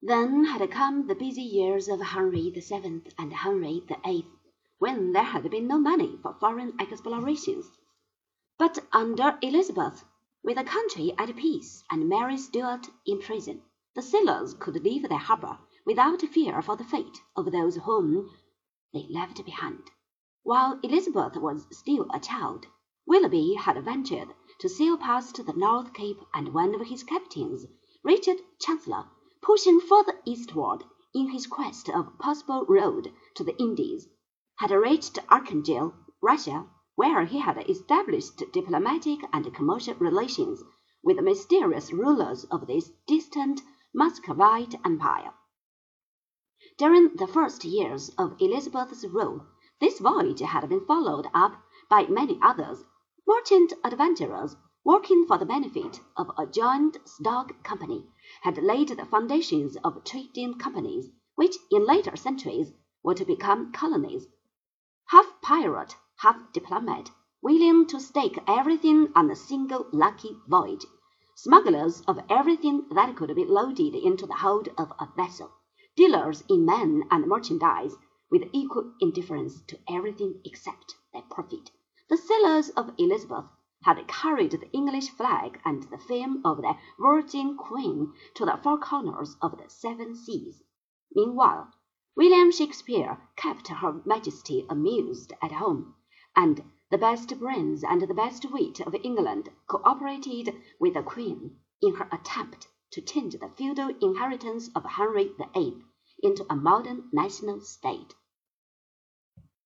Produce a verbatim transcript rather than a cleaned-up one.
Then had come the busy years of Henry the Seventh and Henry the Eighth, when there had been no money for foreign explorations. But under Elizabeth, with the country at peace and Mary Stuart in prison, the sailors could leave their harbour without fear for the fate of those whom they left behind. While Elizabeth was still a child, Willoughby had ventured to sail past the North Cape, and one of his captains, Richard Chancellor, pushing further eastward in his quest of possible road to the Indies, had reached Archangel, Russia, where he had established diplomatic and commercial relations with the mysterious rulers of this distant Muscovite empire. During the first years of Elizabeth's rule, this voyage had been followed up by many others. Merchant adventurers, working for the benefit of a joint stock company, had laid the foundations of trading companies, which in later centuries were to become colonies. Half pirate, half diplomat, willing to stake everything on a single lucky voyage, smugglers of everything that could be loaded into the hold of a vessel, dealers in men and merchandise, with equal indifference to everything except their profit. The sailors of Elizabeth had carried the English flag and the fame of their Virgin Queen to the four corners of the seven seas. Meanwhile, William Shakespeare kept Her Majesty amused at home, and the best brains and the best wit of England co-operated with the Queen in her attempt to change the feudal inheritance of Henry the Eighth into a modern national state.